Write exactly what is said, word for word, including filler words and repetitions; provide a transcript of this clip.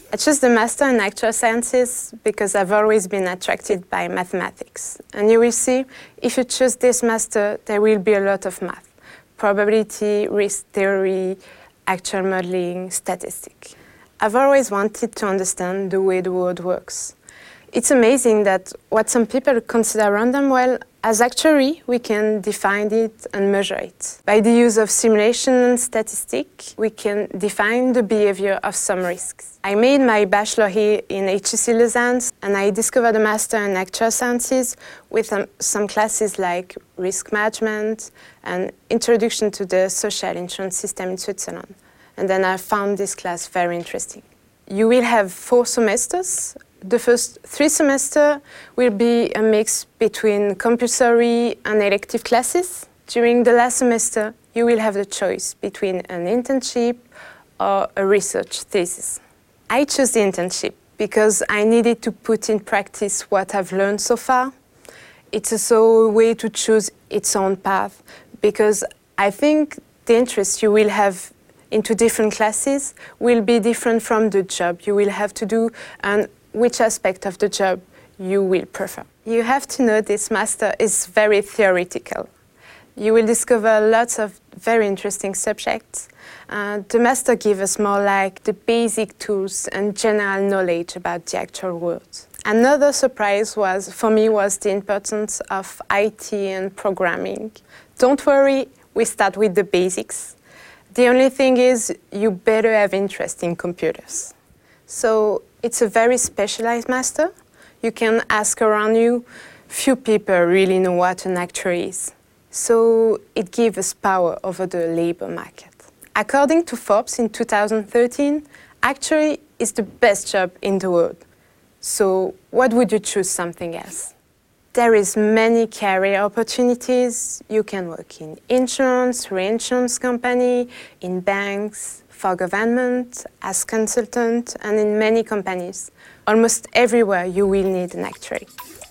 I chose the Master in Actuarial Sciences because I've always been attracted by mathematics. And you will see, if you choose this Master, there will be a lot of math. Probability, risk theory, actual modeling, statistics. I've always wanted to understand the way the world works. It's amazing that what some people consider random, well, as actuary, we can define it and measure it. By the use of simulation and statistics, we can define the behavior of some risks. I made my bachelor here in H E C Lausanne, and I discovered a master in actuarial sciences with um, some classes like risk management and introduction to the social insurance system in Switzerland. And then I found this class very interesting. You will have four semesters. The first three semesters will be a mix between compulsory and elective classes. During the last semester, you will have the choice between an internship or a research thesis. I chose the internship because I needed to put in practice what I've learned so far. It's also a way to choose its own path because I think the interest you will have into different classes will be different from the job you will have to do and which aspect of the job you will prefer. You have to know this master is very theoretical. You will discover lots of very interesting subjects. Uh, the master gives us more like the basic tools and general knowledge about the actual world. Another surprise was, for me, was the importance of I T and programming. Don't worry, we start with the basics. The only thing is you better have interest in computers. So it's a very specialized master. You can ask around you. Few people really know what an actuary is. So it gives us power over the labor market. According to Forbes in two thousand thirteen, actuary is the best job in the world. So what would you choose something else? There is many career opportunities. You can work in insurance, reinsurance company, in banks, for government, as consultant, and in many companies. Almost everywhere you will need an actuary.